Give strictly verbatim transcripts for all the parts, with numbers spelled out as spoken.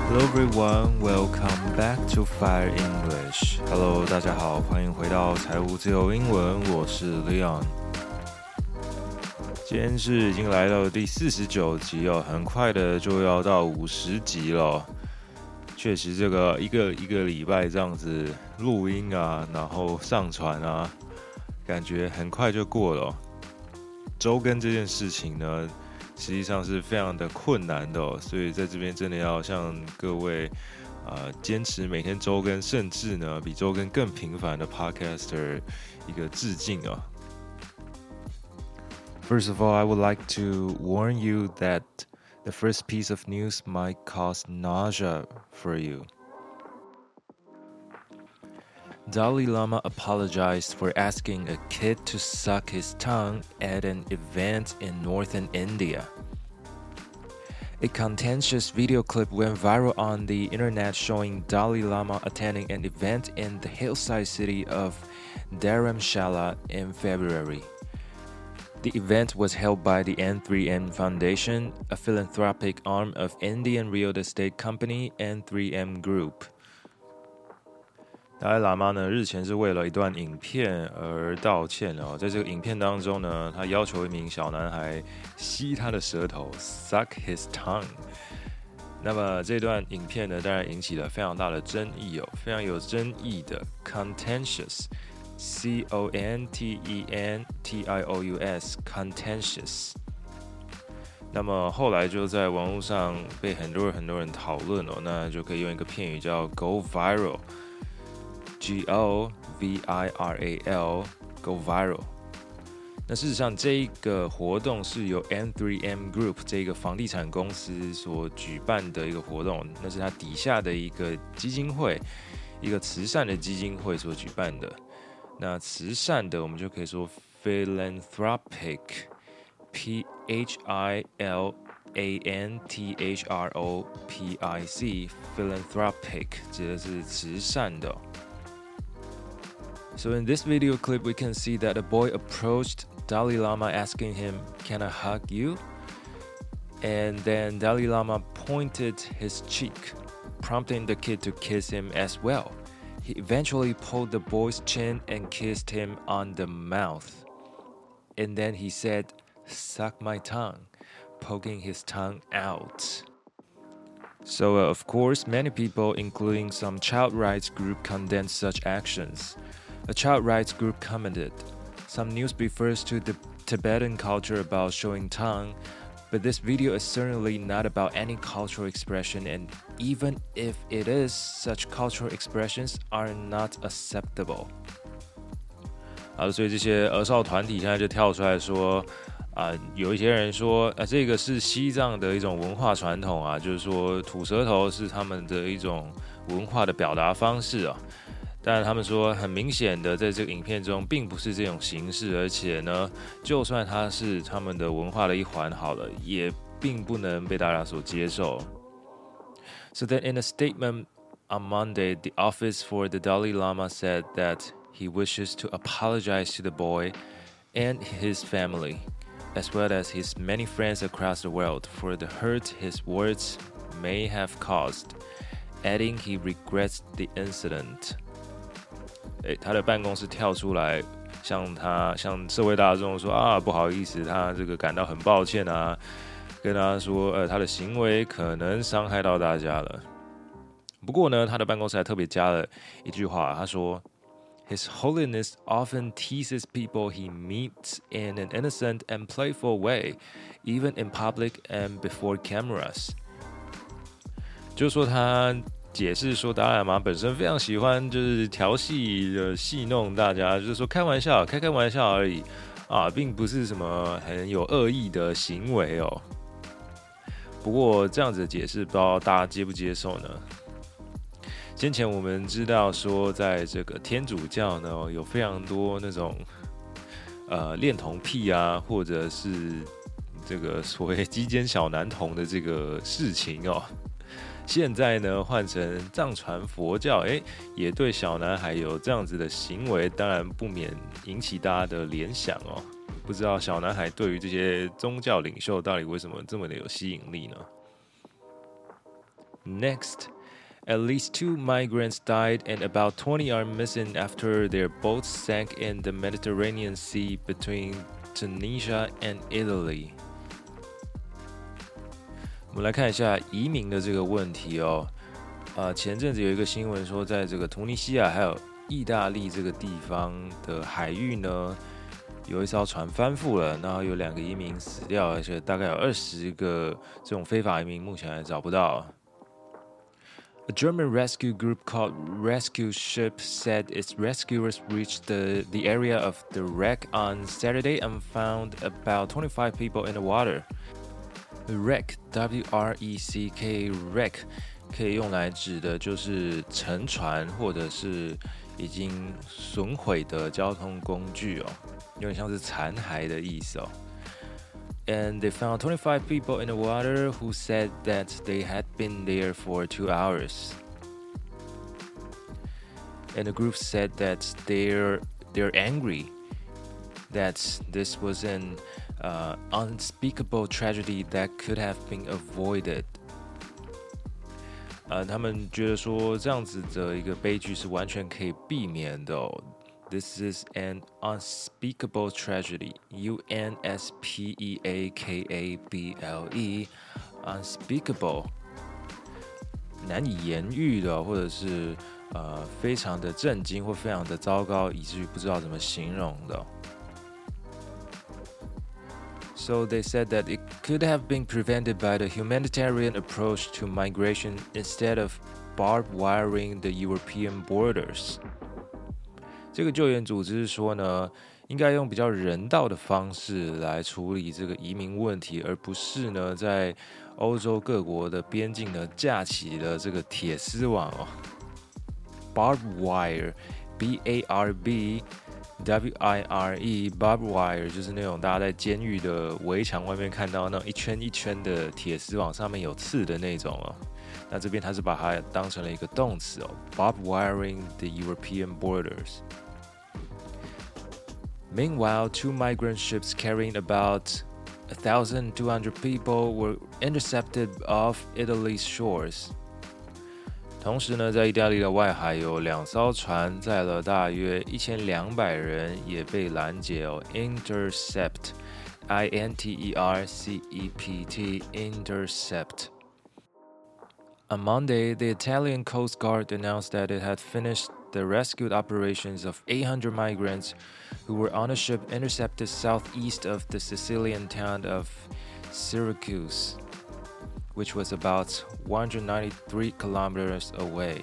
Hello everyone, welcome back to Fire English. Hello， 大家好，歡迎回到財務自由英文，我是 Leon。今天是已經來到第四十九集哦，很快的就要到五十集了。確實，這個一個一個禮拜這樣子錄音啊，然後上傳啊，感覺很快就過了哦。週更這件事情呢，實際上是非常的困難的哦，所以在這邊真的要向各位呃堅持每天週更，甚至呢比週更更頻繁的 podcaster 一個致敬啊。First of all, I would like to warn you that the first piece of news might cause nausea for you. Dalai Lama apologized for asking a kid to suck his tongue at an event in northern India. A contentious video clip went viral on the internet showing Dalai Lama attending an event in the hillside city of Dharamshala in February. The event was held by the N three M Foundation, a philanthropic arm of Indian real estate company N three M Group. 达赖喇嘛呢，日前是為了一段影片而道歉哦。在這個影片當中呢，他要求一名小男孩吸他的舌頭 ，suck his tongue。那麼這段影片呢，當然引起了非常大的爭議哦，非常有爭議的 contentious。C O N T E N T I O U S contentious。那麼後來就在網絡上被很多人很多人討論哦，那就可以用一個片語叫 go viral。G O V I R A L go viral。那事實上，這一個活動是由 N three M Group 這個房地產公司所舉辦的一個活動，那是它底下的一個基金會，一個慈善的基金會所舉辦的。那慈善的，我們就可以說 philanthropic，P H I L A N T H R O P I C，philanthropic 指的是慈善的。So in this video clip, we can see that a boy approached Dalai Lama asking him, "Can I hug you?" And then Dalai Lama pointed his cheek, prompting the kid to kiss him as well. He eventually pulled the boy's chin and kissed him on the mouth. And then he said, "Suck my tongue," poking his tongue out. So, uh, of course, many people, including some child rights group, condemned such actions. A child rights group commented, "Some news refers to the Tibetan culture about showing tongue, but this video is certainly not about any cultural expression, and even if it is, such cultural expressions are not acceptable." 好，所以這些兒少團體現在就跳出來說，啊、呃，有一些人說，啊，這個是西藏的一種文化傳統啊，就是說吐舌頭是他們的一種文化的表達方式啊。但他們說，很明顯的，在這個影片中，並不是這種形式，而且呢，就算它是他們的文化的一環，好了，也並不能被大家所接受。So then, in a statement on Monday, the Office for the Dalai Lama said that he wishes to apologize to the boy and his family, as well as his many friends across the world, for the hurt his words may have caused, adding he regrets the incident. 欸、他的辦公室跳出來向他向社會大眾說啊，不好意思，他這個感到很抱歉啊，跟他說，呃，他的行為可能傷害到大家了。不過呢，他的辦公室還特別加了一句話，他說 ，His Holiness often teases people he meets in an innocent and playful way, even in public and before cameras. 就是說他。解釋說，達賴喇嘛本身非常喜歡就是調戲的戲弄大家，就是說開玩笑，開開玩笑而已啊，並不是什麼很有惡意的行為哦。不過這樣子的解釋，不知道大家接不接受呢？先前我們知道說，在這個天主教呢，有非常多那種呃戀童癖啊，或者是這個所謂雞姦小男童的這個事情哦。現在呢，換成藏傳佛教，哎，也對小男孩有這樣子的行為，當然不免引起大家的聯想哦。不知道小男孩對於這些宗教領袖到底為什麼這麼的有吸引力呢？ Next, at least two migrants died and about twenty are missing after their boats sank in the Mediterranean Sea between Tunisia and Italy. 我們來看一下移民的這個問題哦。呃，前陣子有一個新聞說，在這個突尼西亞還有意大利這個地方的海域呢，有一艘船翻覆了，然後有兩個移民死掉，而且大概有二十個這種非法移民目前還找不到。A German rescue group called Rescue Ship said its rescuers reached the, the area of the wreck on Saturday and found about twenty-five people in the water. Wreck, W R E C K, wreck 可以用來指的就是沉船或者是已經損毀的交通工具哦，有點像是殘骸的意思哦。And they found twenty-five people in the water who said that they had been there for two hours. And the group said that they're they're angry that this was an uh, unspeakable tragedy that could have been avoided. 呃，他們覺得說這樣子的一個悲劇是完全可以避免的哦。This is an unspeakable tragedy. U N S P E A K A B L E. Unspeakable. 難以言喻的，或者是呃非常的震驚或非常的糟糕，以至於不知道怎麼形容的。So they said that it could have been prevented by the humanitarian approach to migration instead of barbed wiring the European borders. 這個救援組織說呢，應該用比較人道的方式來處理這個移民問題，而不是呢在歐洲各國的邊境呢架起了這個鐵絲網哦。Barbed wire, B A R B W I R E, barbed wire 就是那種大家在監獄的圍牆外面看到那種一圈一圈的鐵絲網，上面有刺的那種哦。那這邊它是把它當成了一個動詞哦 ，barbed wiring the European borders. Meanwhile, two migrant ships carrying about one thousand two hundred people were intercepted off Italy's shores. 同時呢，在意大利的外海有兩艘船載了大約一千兩百人也被攔截哦 ，intercept, I N T E R C E P T, intercept. On Monday, the Italian Coast Guard announced that it had finished the rescue operations of eight hundred migrants who were on a ship intercepted southeast of the Sicilian town of Syracuse, which was about one hundred ninety-three kilometers away.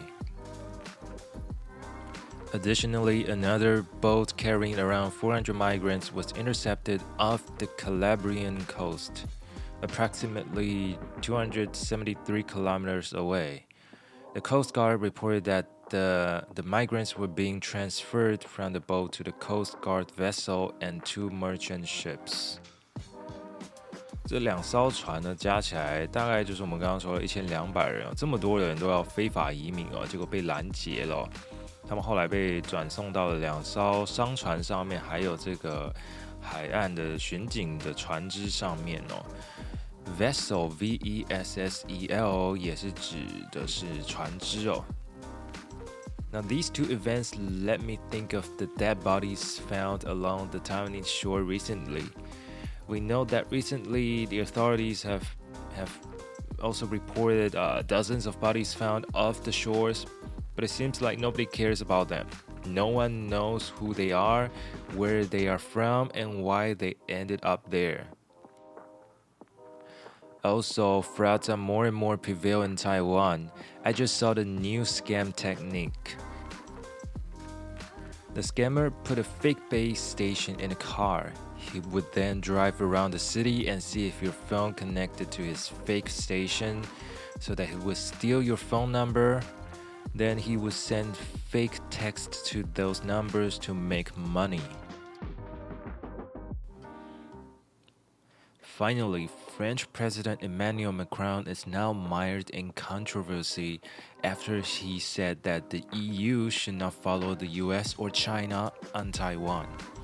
Additionally, another boat carrying around four hundred migrants was intercepted off the Calabrian coast, approximately two hundred seventy-three kilometers away. The Coast Guard reported that the, the migrants were being transferred from the boat to the Coast Guard vessel and two merchant ships. 這兩艘船呢，加起來大概就是我們剛剛說的一千兩百人哦，這麼多的人都要非法移民哦，結果被攔截了哦。他們後來被轉送到了兩艘商船上面，還有這個海岸的巡警的船隻上面哦。Vessel, V E S S E L 也是指的是船隻哦。Now these two events let me think of the dead bodies found along the Taiwanese shore recently.We know that recently the authorities have have also reported uh, dozens of bodies found off the shores, but it seems like nobody cares about them. No one knows who they are, where they are from, and why they ended up there. Also, frauds are more and more prevail in Taiwan. I just saw the new scam technique. The scammer put a fake base station in a car.He would then drive around the city and see if your phone connected to his fake station so that he would steal your phone number. Then he would send fake texts to those numbers to make money. Finally, French President Emmanuel Macron is now mired in controversy after he said that the E U should not follow the U S or China on Taiwan.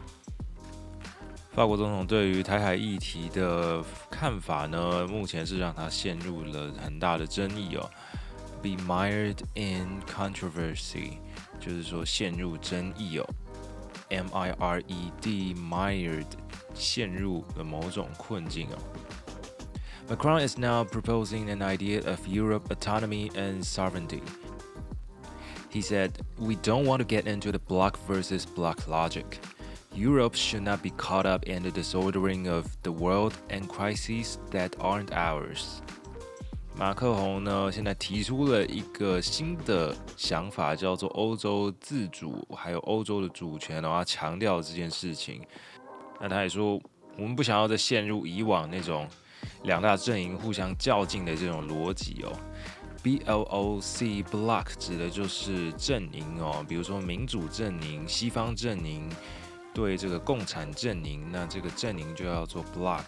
法國總統對於台海議題的看法呢，目前是讓他陷入了很大的爭議哦。 be mired in controversy， 就是說陷入爭議哦。M I R E D mired 陷入了某種困境哦。Macron is now proposing an idea of Europe autonomy and sovereignty. He said, "We don't want to get into the bloc versus bloc logic. Europe should not be caught up in the disordering of the world and crises that aren't ours." 馬克宏呢，現在提出了一個新的想法，叫做歐洲自主，還有歐洲的主權，然後他強調這件事情。那他也說，我們不想要再陷入以往那種兩大陣營互相較勁的這種邏輯哦。B L O C bloc 指的就是陣營哦，比如說民主陣營、西方陣營對這個共產陣營，那這個陣營就叫做 bloc。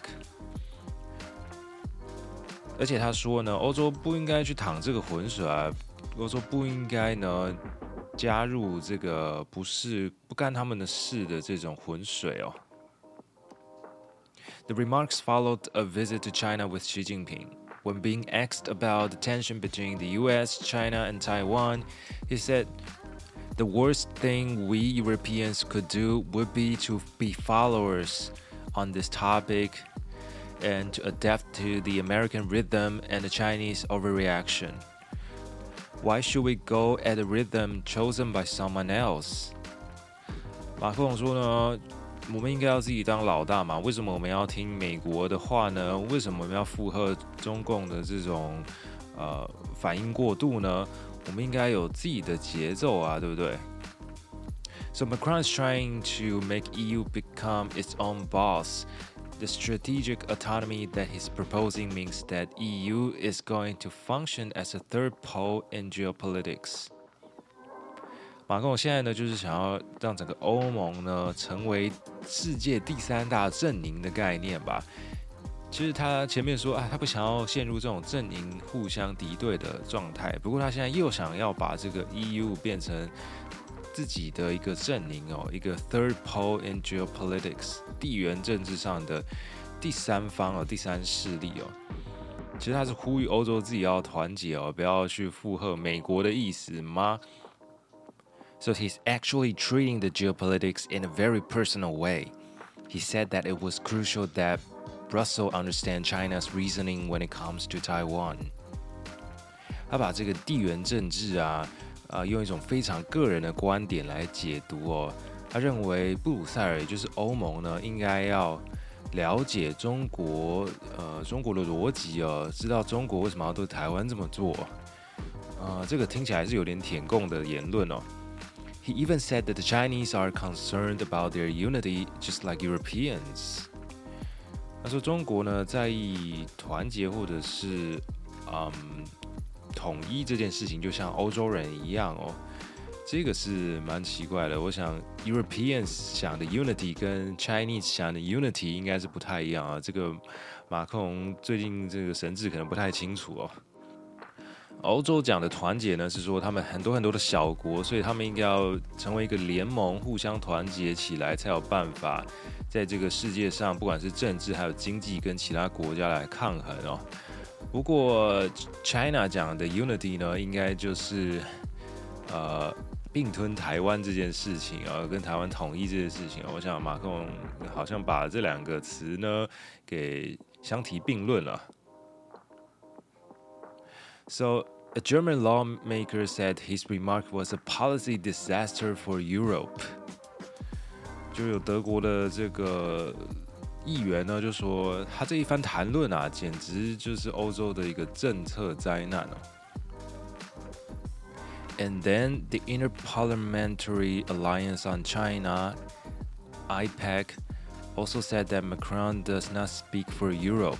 而且他說呢，歐洲不應該去淌這個渾水啊，歐洲不應該呢加入這個不是不干他們的事的這種渾水哦。The remarks followed a visit to China with Xi Jinping. When being asked about the tension between the U S, China, and Taiwan, he said, "The worst thing we Europeans could do would be to be followers on this topic.And to adapt to the American rhythm and the Chinese overreaction. Why should we go at a rhythm chosen by someone else?" 馬克龍說呢，我們應該要自己當老大嘛，為什麼我們要聽美國的話呢？為什麼我們要附和中共的這種呃反應過度呢？我們應該有自己的節奏啊，對不對？ So Macron is trying to make E U become its own boss.The strategic autonomy that he's proposing means that E U is going to function as a third pole in geopolitics. 馬克龍現在呢，就是想要讓整個歐盟呢成為世界第三大陣營的概念吧。其實他前面說啊，他不想要陷入這種陣營互相敵對的狀態，不過他現在又想要把這個 E U 變成自己的一個陣營哦，一個 third pole in geopolitics 地緣政治上的第三方哦，第三勢力哦。其實他是呼籲歐洲自己要團結哦，不要去附和美國的意思嗎？ So he's actually treating the geopolitics in a very personal way. He said that it was crucial that Brussels understand China's reasoning when it comes to Taiwan. 他把這個地緣政治啊。呃，用一種非常個人的觀點來解讀哦。他認為布魯塞爾，也就是歐盟呢，應該要了解中國，呃，中國的邏輯哦，知道中國為什麼要對台灣這麼做。呃，這個聽起來是有點舔共的言論哦。He even said that the Chinese are concerned about their unity, just like Europeans. 他說中國呢在意團結或者是嗯。統一這件事情就像歐洲人一樣哦，這個是蠻奇怪的。我想 Europeans 想的 unity 跟 Chinese 想的 unity 應該是不太一樣啊。這個馬克龍最近這個神志可能不太清楚哦。歐洲講的團結呢，是說他們很多很多的小國，所以他們應該要成為一個聯盟，互相團結起來，才有辦法在這個世界上，不管是政治還有經濟，跟其他國家來抗衡哦。不過 China 講的 unity 呢，應該就是呃併吞台灣這件事情啊，跟台灣統一這件事情啊，我想馬克龍好像把這兩個詞呢給相提並論了。So a German lawmaker said his remark was a policy disaster for Europe. 就有德國的這個議員呢，就說他這一番談論啊，簡直就是歐洲的一個政策災難哦。And then the Interparliamentary Alliance on China, I P E C, also said that Macron does not speak for Europe.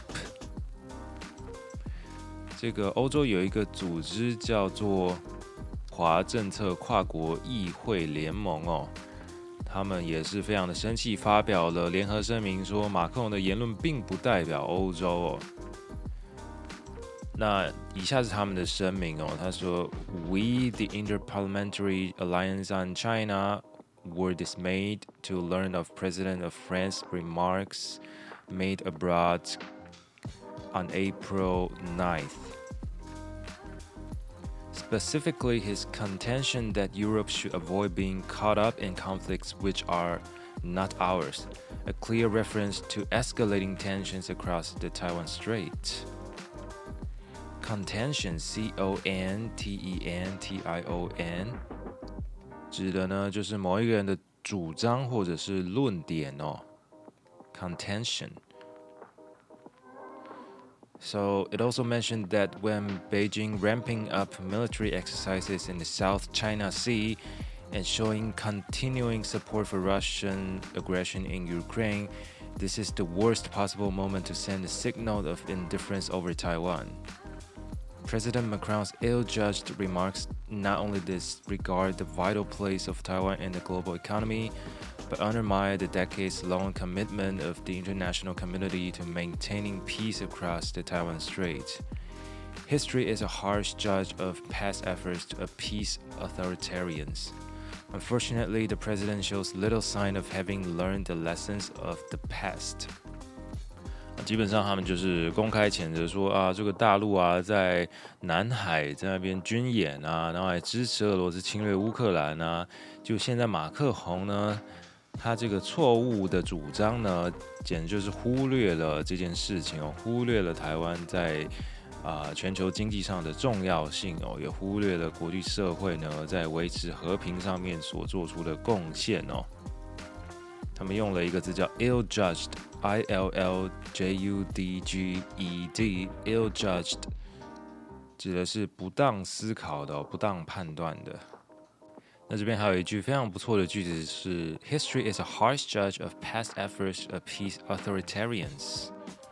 這個歐洲有一個組織叫做華政策跨國議會聯盟哦。他們也是非常的生氣，發表了聯合聲明，說馬克龍的言論並不代表歐洲哦。那以下是他們的聲明哦，他說 ：“We, the Interparliamentary Alliance on China, were dismayed to learn of President of France's remarks made abroad on April ninth. specifically his contention that Europe should avoid being caught up in conflicts which are not ours, a clear reference to escalating tensions across the Taiwan Strait. Contention, C O N T E N T I O N 指的呢就是某一個人的主張或者是論點哦 Contention. So it also mentioned that when Beijing ramping up military exercises in the South China Sea and showing continuing support for Russian aggression in Ukraine, this is the worst possible moment to send a signal of indifference over Taiwan. President Macron's ill-judged remarks not only disregard the vital place of Taiwan in the global economy, but undermine the decades-long commitment of the international community to maintaining peace across the Taiwan Strait. History is a harsh judge of past efforts to appease authoritarians. Unfortunately, the president shows little sign of having learned the lessons of the past. 基本上他们就是公開譴責說啊，這個大陸啊，在南海在那邊軍演啊，然後還支持俄羅斯侵略烏克蘭啊。就現在馬克宏呢，他這個錯誤的主張呢，簡直就是忽略了這件事情哦，忽略了台灣在啊、呃、全球經濟上的重要性哦，也忽略了國際社會呢在維持和平上面所做出的貢獻哦。他們用了一個字叫 ill-judged。I L L J U D G E D ill-judged 指的是不當思考的、不當判斷的。那這邊還有一句非常不錯的句子是 History is a harsh judge of past efforts to appease authoritarians.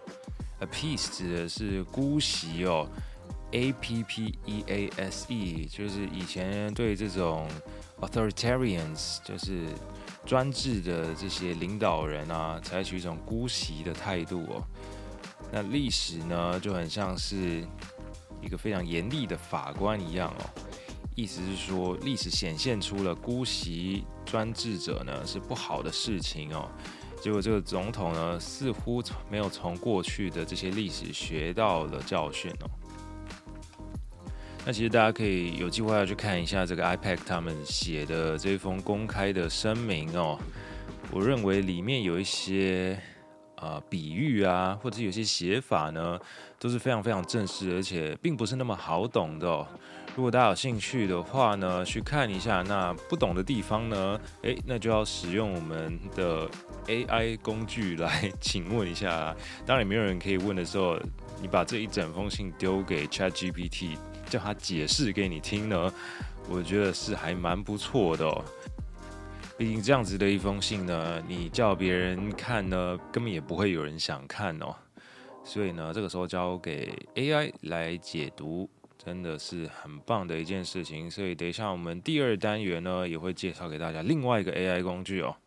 Appease 指的是姑息哦 A P P E A S E 就是以前對這種 authoritarians 就是專制的這些領導人啊，採取一種姑息的態度哦。那歷史呢，就很像是一個非常嚴厲的法官一樣哦。意思是說，歷史顯現出了姑息專制者呢是不好的事情哦。結果這個總統呢，似乎沒有從過去的這些歷史學到了教訓哦。那其實大家可以有機會要去看一下這個 I P E C 他們寫的這封公開的聲明哦。我認為裡面有一些呃比喻啊，或者有些寫法呢，都是非常非常正式，而且並不是那麼好懂的哦。如果大家有興趣的話呢，去看一下。那不懂的地方呢，誒，那就要使用我們的 A I 工具來請問一下。當然沒有人可以問的時候，你把這一整封信丟給 ChatGPT。叫他解釋給你聽呢，我覺得是還蠻不錯的哦。畢竟這樣子的一封信呢，你叫別人看呢，根本也不會有人想看哦。所以呢，這個時候交給 A I 來解讀，真的是很棒的一件事情。所以等一下我們第二單元呢，也會介紹給大家另外一個 A I 工具哦。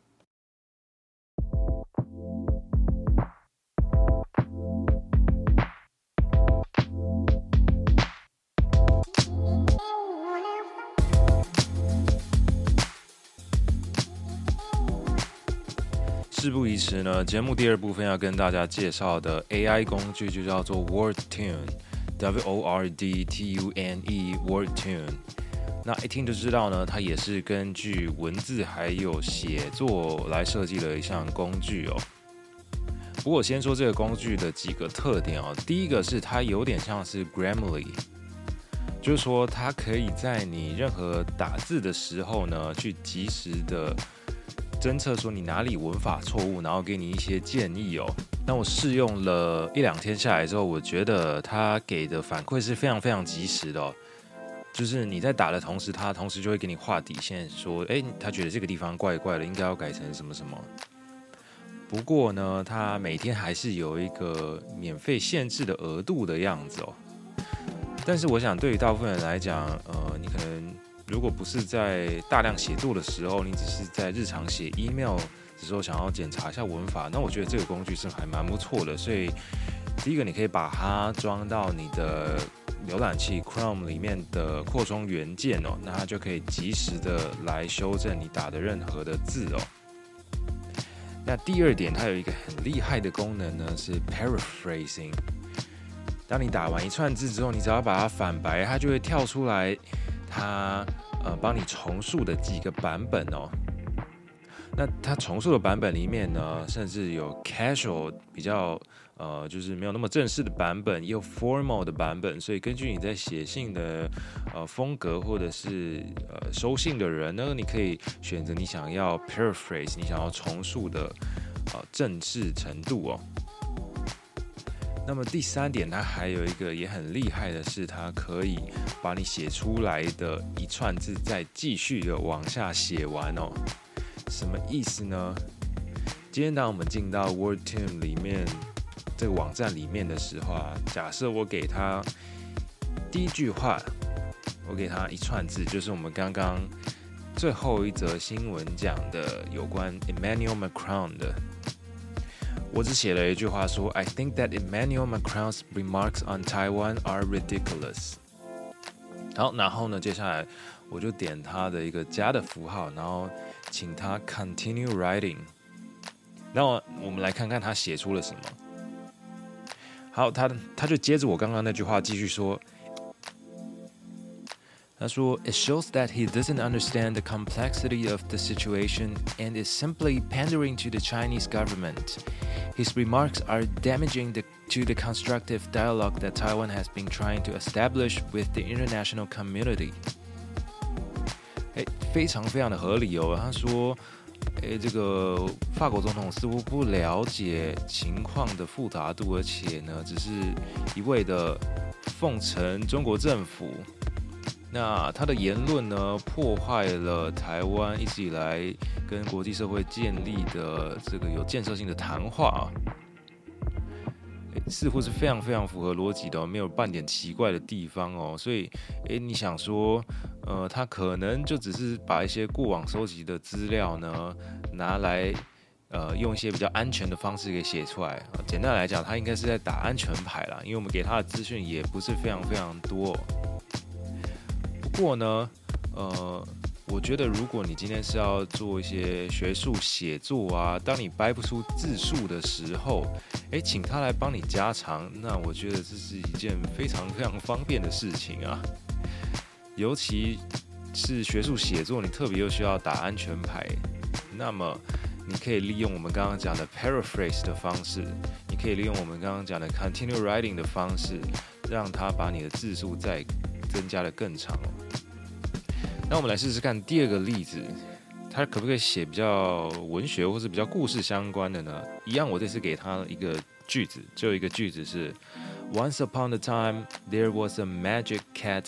事不宜遲呢，節目第二部分要跟大家介紹的 A I 工具就叫做 WordTune，W O R D T U N E，WordTune。那一聽就知道呢，它也是根據文字還有寫作來設計的一項工具哦。不過我先說這個工具的幾個特點哦，第一個是它有點像是 Grammarly， 就是說它可以在你任何打字的時候呢，去及時的偵測說你哪裡文法錯誤，然後給你一些建議哦。那我試用了一兩天下來之後，我覺得他給的反饋是非常非常及時的哦。就是你在打的同時，他同時就會給你畫底線，說，哎，他覺得這個地方怪怪的，應該要改成什麼什麼。不過呢，他每天還是有一個免費限制的額度的樣子哦。但是我想，對於大部分人來講，呃，你可能如果不是在大量寫作的時候，你只是在日常寫 email 的時候想要檢查一下文法，那我覺得這個工具是還蠻不錯的。所以第一個，你可以把它裝到你的瀏覽器 Chrome 裡面的擴充元件哦，那它就可以及時的來修正你打的任何的字哦。那第二點，它有一個很厲害的功能呢，是 paraphrasing。 當你打完一串字之後，你只要把它反白，它就會跳出來，它呃幫你重述的幾個版本哦。那它重述的版本裡面呢，甚至有 casual 比較呃就是沒有那麼正式的版本，也有 formal 的版本。所以根據你在寫信的呃風格，或者是呃收信的人呢，你可以選擇你想要 paraphrase， 你想要重述的呃正式程度哦。那麼第三點，它還有一個也很厲害的是，它可以把你寫出來的一串字再繼續的往下寫完哦。什麼意思呢？今天當我們進到 WordTune 裡面這個網站裡面的時候啊，假設我給他第一句話，我給他一串字，就是我們剛剛最後一則新聞講的有關 Emmanuel Macron 的。我只寫了一句話說 I think that Emmanuel Macron's remarks on Taiwan are ridiculous。 好，然後呢，接下來我就點他的一個加的符號，然後請他 continue writing。 那我們來看看他寫出了什麼。好，他他就接着我剛剛那句話繼續說，他說 It shows that he doesn't understand the complexity of the situation and is simply pandering to the Chinese government. His remarks are damaging the, to the constructive dialogue that Taiwan has been trying to establish with the international community. 欸，非常非常的合理哦。他說，欸，這個法國總統似乎不了解情況的複雜度，而且呢，只是一味的奉承中國政府。那他的言論呢，破壞了台灣一直以來跟國際社會建立的這個有建設性的談話，似乎是非常非常符合邏輯的，沒有半點奇怪的地方哦。所以，誒，你想說，呃，他可能就只是把一些過往收集的資料呢，拿來，呃，用一些比較安全的方式給寫出來。簡單來講，他應該是在打安全牌啦，因為我們給他的資訊也不是非常非常多哦。不過呢，呃，我覺得如果你今天是要做一些學術寫作啊，當你掰不出字數的時候，誒，請他來幫你加長，那我覺得這是一件非常非常方便的事情啊。尤其是學術寫作，你特別又需要打安全牌，那麼你可以利用我們剛剛講的 paraphrase 的方式，你可以利用我們剛剛講的 continue writing 的方式，讓他把你的字數再增加的更長哦。那我們來試試看第二個例子，他可不可以寫比較文學或是比較故事相關的呢？一樣，我這次給他一個句子，就一個句子是 Once upon a time, there was a magic cat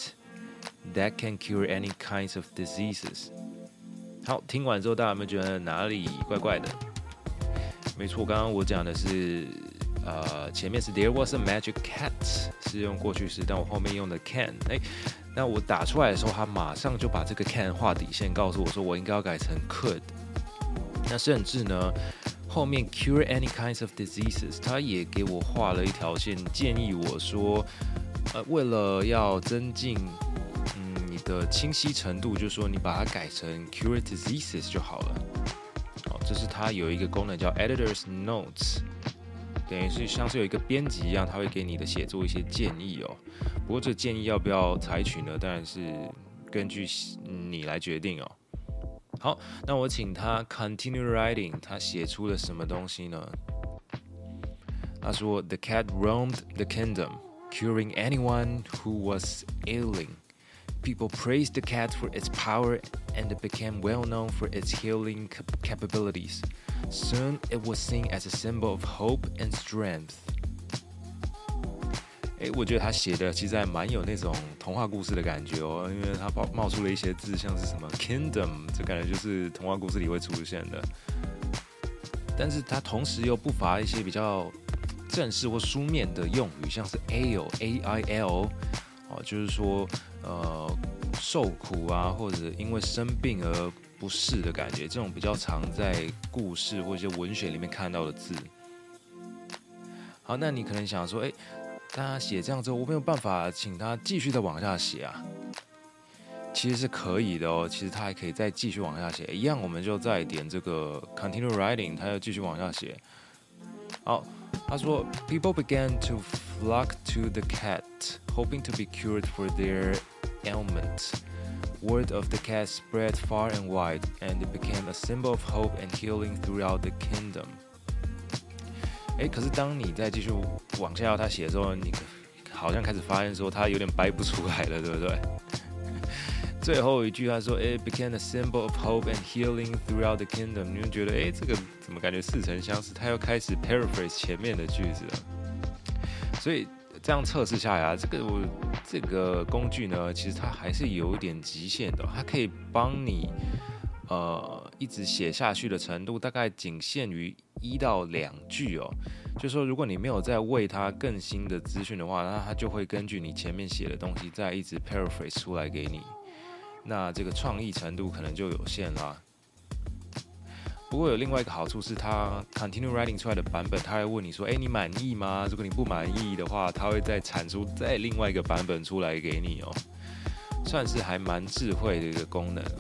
that can cure any kinds of diseases。 好，聽完之後大家有沒有覺得哪裡怪怪的？沒錯，剛剛我講的是呃，前面是 there was a magic cat 是用過去式，但我後面用的 can， 哎，那我打出來的時候，他馬上就把這個 can 畫底線，告訴我說我應該要改成 could。那甚至呢，後面 cure any kinds of diseases， 他也給我畫了一條線，建議我說，呃，為了要增進嗯你的清晰程度，就是說你把它改成 cure diseases 就好了。好，這是它有一個功能叫 editor's notes。等於是像是有一個編輯一樣，他會給你的寫作一些建議哦。不過這個建議要不要採取呢？當然是根據你來決定哦。好，那我請他 continue writing， 他寫出了什麼東西呢？他說 The cat roamed the kingdom, curing anyone who was ailing. People praised the cat for its power, and it became well known for its healing capabilities.Soon, it was seen as a symbol of hope and strength. 誒，我覺得他寫的其實還蠻有那種童話故事的感覺哦，因為他冒出了一些字，像是什麼 kingdom， 這感覺就是童話故事裡會出現的。但是他同時又不乏一些比較正式或書面的用語，像是 ail A I L， 哦，就是說呃受苦啊，或者因為生病而不適的感覺，這種比較常在故事或一些文學裡面看到的字。好，那你可能想說，哎，他寫這樣之後，我沒有辦法請他繼續再往下寫啊？其實是可以的哦，其實他還可以再繼續往下寫，一樣我們就再點這個 continue writing，他要繼續往下寫。好， 他說 ，People began to flock to the cat, hoping to be cured for their ailment. Word of the cat spread far and wide, and it became a symbol of hope and healing throughout the kingdom. 哎，可是當你再繼續往下他寫的時候，你好像開始發現說他有點掰不出來了，對不對？最後一句他說 ，It became a symbol of hope and healing throughout the kingdom。你會覺得，哎，這個怎麼感覺似曾相識？他又開始 paraphrase 前面的句子了。所以這樣測試下來啊，這個我這個工具呢，其實它還是有一點極限的，它可以幫你呃一直寫下去的程度，大概僅限於一到兩句哦。就是說，如果你沒有再餵它更新的資訊的話，那它就會根據你前面寫的東西再一直 paraphrase 出來給你。那這個創意程度可能就有限啦。不過有另外一個好處是，它 continue writing 出來的版本，它會問你說：“哎，你滿意嗎？”如果你不滿意的話，它會再產出再另外一個版本出來給你哦，算是還蠻智慧的一個功能。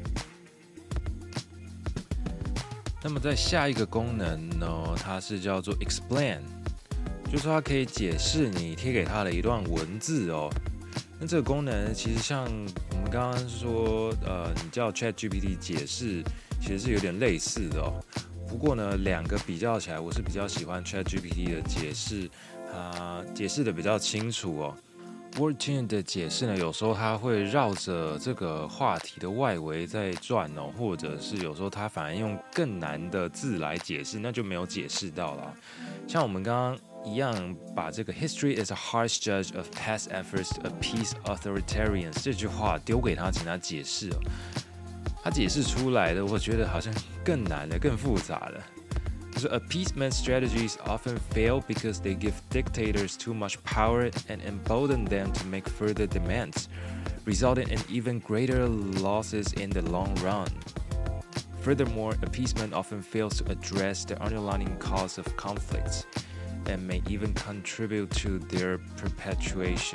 那麼在下一個功能呢，它是叫做 explain， 就是說它可以解釋你貼給它的一段文字哦。那這個功能其實像我們剛剛說，呃，你叫 ChatGPT 解釋，其實是有點類似的哦。不過呢，兩個比較起來，我是比較喜歡 ChatGPT 的解釋，它解釋的比較清楚哦。WordTune 的解釋呢，有時候它會繞着這個話題的外圍在轉哦，或者是有時候它反而用更難的字來解釋，那就沒有解釋到啦。像我們剛剛一樣把這個 History is a harsh judge of past efforts to appease authoritarians 這句話丟給他，請他解釋哦。他解釋出來的，我覺得好像更難了，更複雜了。就是 appeasement strategies often fail because they give dictators too much power and embolden them to make further demands, resulting in even greater losses in the long run. Furthermore, appeasement often fails to address the underlying cause of conflicts and may even contribute to their perpetuation.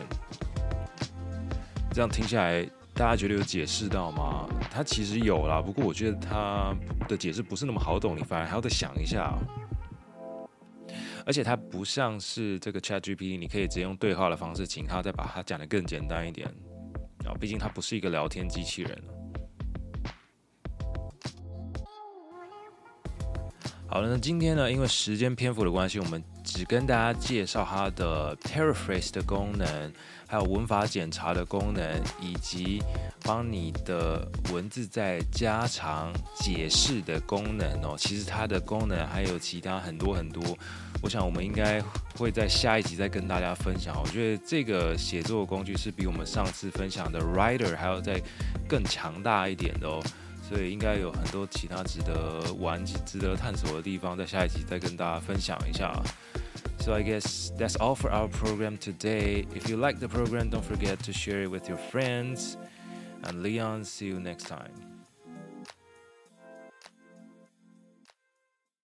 這樣聽下來，大家覺得有解釋到嗎？它其實有啦，不過我覺得它的解釋不是那麼好懂，你反而還要再想一下。而且它不像是這個 ChatGPT， 你可以直接用對話的方式，請它再把它講得更簡單一點啊，畢竟它不是一個聊天機器人。好了，那今天呢，因為時間篇幅的關係，我們只跟大家介紹它的 paraphrase 的功能，還有文法檢查的功能，以及幫你的文字再加長解釋的功能哦。其實它的功能還有其他很多很多，我想我們應該會在下一集再跟大家分享。我覺得這個寫作的工具是比我們上次分享的 Writer 還要再更強大一點的哦。所以應該有很多其他值得玩、值得探索的地方，在下一集再跟大家分享一下。So I guess that's all for our program today. If you like the program, don't forget to share it with your friends. And Leon, see you next time.